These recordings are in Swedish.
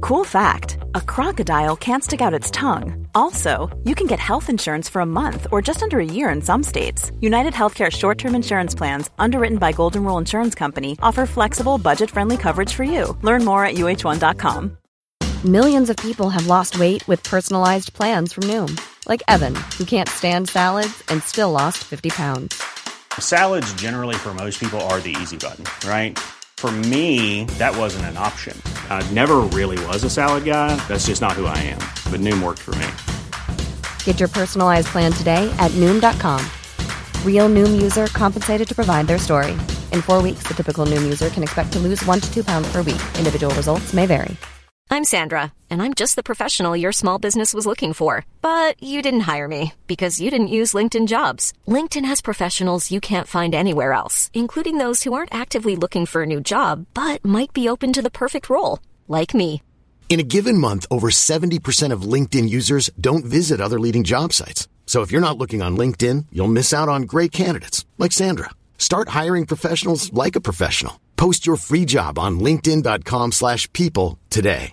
Cool fact, a crocodile can't stick out its tongue. Also, you can get health insurance for a month or just under a year in some states. United Healthcare short-term insurance plans, underwritten by Golden Rule Insurance Company, offer flexible, budget-friendly coverage for you. Learn more at uh1.com. Millions of people have lost weight with personalized plans from Noom. Like Evan, who can't stand salads and still lost 50 pounds. Salads generally for most people are the easy button, right? For me, that wasn't an option. I never really was a salad guy. That's just not who I am. But Noom worked for me. Get your personalized plan today at Noom.com. Real Noom user compensated to provide their story. In 4 weeks, the typical Noom user can expect to lose 1 to 2 pounds per week. Individual results may vary. I'm Sandra, and I'm just the professional your small business was looking for. But you didn't hire me because you didn't use LinkedIn Jobs. LinkedIn has professionals you can't find anywhere else, including those who aren't actively looking for a new job, but might be open to the perfect role, like me. In a given month, over 70% of LinkedIn users don't visit other leading job sites. So if you're not looking on LinkedIn, you'll miss out on great candidates, like Sandra. Start hiring professionals like a professional. Post your free job on linkedin.com/people today.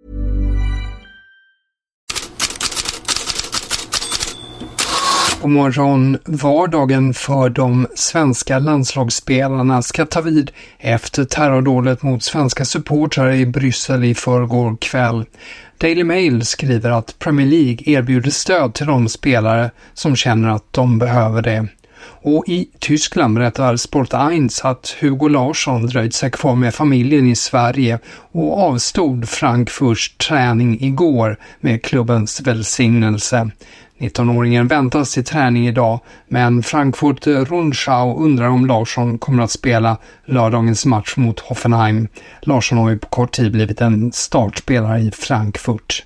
God morgon. Vardagen för de svenska landslagsspelarna ska ta vid efter terrordådet mot svenska supportrar i Bryssel i förrgår kväll. Daily Mail skriver att Premier League erbjuder stöd till de spelare som känner att de behöver det. Och i Tyskland berättar Sport 1 att Hugo Larsson dröjt sig kvar med familjen i Sverige och avstod Frankfurts träning igår med klubbens välsignelse. 19-åringen väntas till träning idag, men Frankfurt Rundschau undrar om Larsson kommer att spela lördagens match mot Hoffenheim. Larsson har ju på kort tid blivit en startspelare i Frankfurt.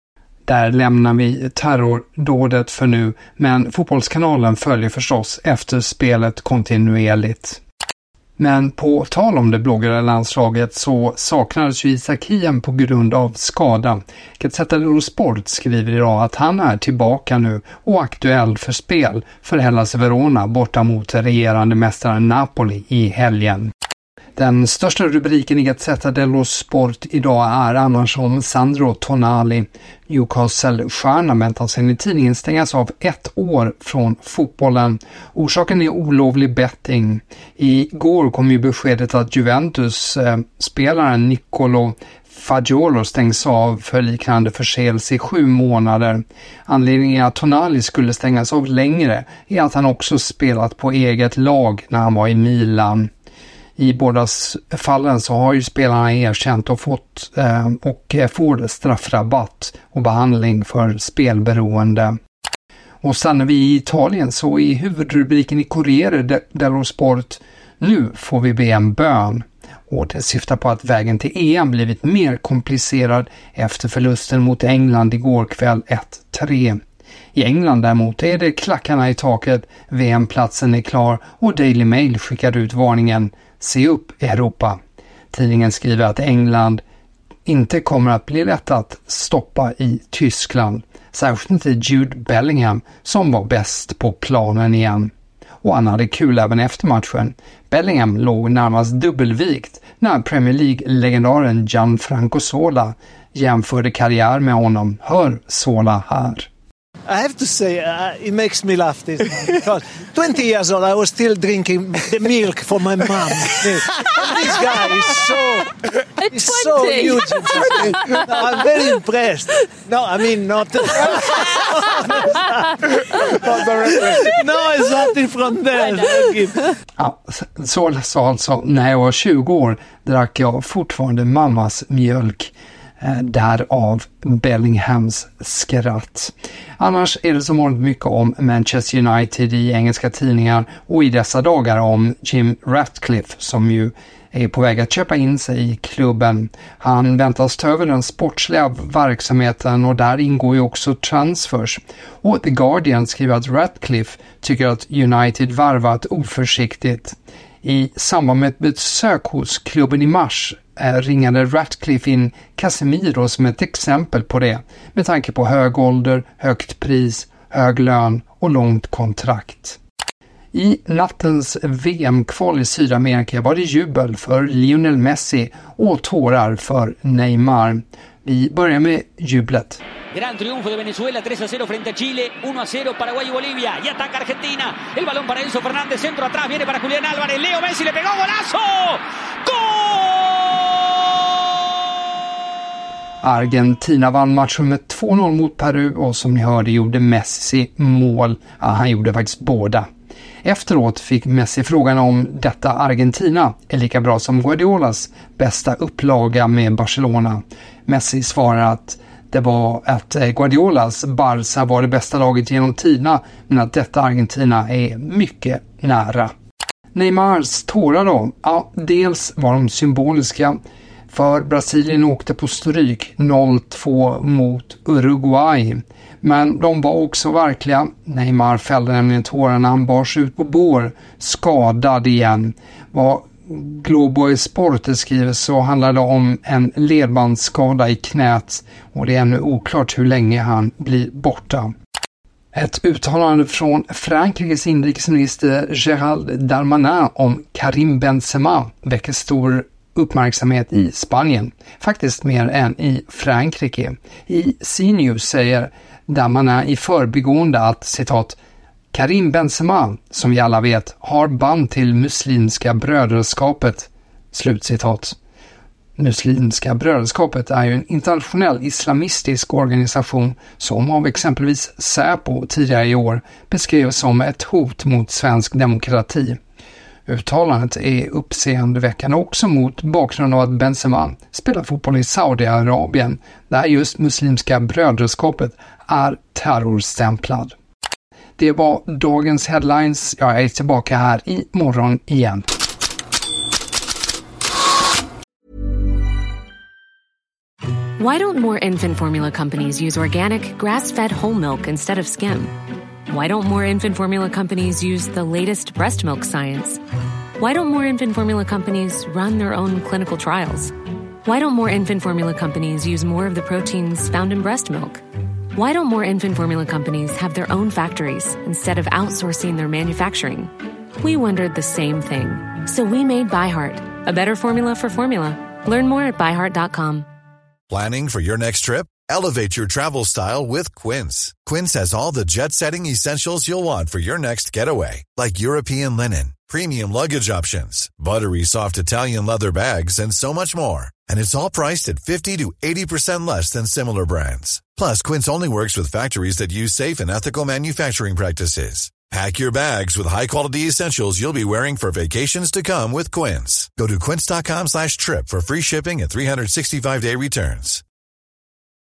Där lämnar vi terrordådet för nu, men Fotbollskanalen följer förstås efter spelet kontinuerligt. Men på tal om det bloggade landslaget så saknades ju Isak Hien på grund av skada. Gazzetta dello Sport skriver idag att han är tillbaka nu och aktuell för spel för Hellas Verona borta mot regerande mästaren Napoli i helgen. Den största rubriken i Gazzetta dello Sport idag är annars om Sandro Tonali. Newcastle-stjärnan väntas enligt tidningen stängas av 1 år från fotbollen. Orsaken är olovlig betting. Igår kom ju beskedet att Juventus-spelaren Nicolo Fagiolo stängs av för liknande förseelse i 7 månader. Anledningen att Tonali skulle stängas av längre är att han också spelat på eget lag när han var i Milan. I båda fallen så har ju spelarna erkänt och fått och får straffrabatt och behandling för spelberoende. Och stannar vi i Italien så i huvudrubriken i Corriere dello Sport: nu får vi be en bön. Och det syftar på att vägen till EM blivit mer komplicerad efter förlusten mot England igår kväll 1-3. I England däremot är det klackarna i taket, VM-platsen är klar och Daily Mail skickar ut varningen: se upp Europa. Tidningen skriver att England inte kommer att bli lätt att stoppa i Tyskland, särskilt inte Jude Bellingham som var bäst på planen igen. Och han hade kul även efter matchen. Bellingham låg närmast dubbelvikt när Premier League-legendaren Gianfranco Zola jämförde karriär med honom. Hör Zola här. I have to say, it makes me laugh this because 20 years old I was still drinking the milk for my mom. This guy is so huge. No, I'm very impressed. No, I mean not. No, it's nothing from there. Ja, så sa alltså: när jag var 20 år drack jag fortfarande mammas mjölk. Därav Bellinghams skratt. Annars är det som vanligt mycket om Manchester United i engelska tidningar och i dessa dagar om Jim Ratcliffe som ju är på väg att köpa in sig i klubben. Han väntas ta över den sportsliga verksamheten och där ingår ju också transfers. Och The Guardian skriver att Ratcliffe tycker att United varvat oförsiktigt. I samband med ett besök hos klubben i mars ringade Ratcliffe in Casemiro som ett exempel på det, med tanke på hög ålder, högt pris, hög lön och långt kontrakt. I nattens VM-kval i Sydamerika var det jubel för Lionel Messi och tårar för Neymar. Vi börjar med jublet. Gran triunfo de Venezuela, 3-0 frente a Chile, 1-0 Paraguay y Bolivia. Y ataca Argentina. El balón para Enzo Fernández, centro atrás, viene para Julián Álvarez. Leo Messi le pegó, golazo! ¡Gol! Argentina vann matchen med 2-0 mot Peru och som ni hörde gjorde Messi mål. Ja, han gjorde faktiskt båda. Efteråt fick Messi frågan om detta Argentina är lika bra som Guardiolas bästa upplaga med Barcelona. Messi svarar att det var att Guardiolas Barca var det bästa laget genom tiderna, men att detta Argentina är mycket nära. Neymars tårar då? Ja, dels var de symboliska, för Brasilien åkte på stryk 0-2 mot Uruguay. Men de var också verkliga. Neymar fällde nämligen tårarna, han bars ut på bår, skadad igen. Vad Globo Sport skriver så handlar det om en ledbandsskada i knät och det är ännu oklart hur länge han blir borta. Ett uttalande från Frankrikes inrikesminister Gérald Darmanin om Karim Benzema väcker stor uppmärksamhet i Spanien, faktiskt mer än i Frankrike. I CNews säger Darmanin i förbigående att, citat, Karim Benzema, som vi alla vet, har band till Muslimska brödraskapet, slutcitat. Muslimska brödraskapet är ju en internationell islamistisk organisation som av exempelvis Säpo tidigare i år beskrevs som ett hot mot svensk demokrati. Uttalandet är uppseendeväckande också mot bakgrund av att Benzema spelar fotboll i Saudiarabien, där just Muslimska brödraskapet är terrorstämplad. Det var dagens headlines. Jag är tillbaka här i morgon igen. Why don't more infant formula companies use organic, grass-fed whole milk instead of skim? Why don't more infant formula companies use the latest breast milk science? Why don't more infant formula companies run their own clinical trials? Why don't more infant formula companies use more of the proteins found in breast milk? Why don't more infant formula companies have their own factories instead of outsourcing their manufacturing? We wondered the same thing. So we made ByHeart, a better formula for formula. Learn more at byheart.com. Planning for your next trip? Elevate your travel style with Quince. Quince has all the jet-setting essentials you'll want for your next getaway, like European linen, premium luggage options, buttery soft Italian leather bags, and so much more. And it's all priced at 50 to 80% less than similar brands. Plus, Quince only works with factories that use safe and ethical manufacturing practices. Pack your bags with high-quality essentials you'll be wearing for vacations to come with Quince. Go to quince.com/trip for free shipping and 365-day returns.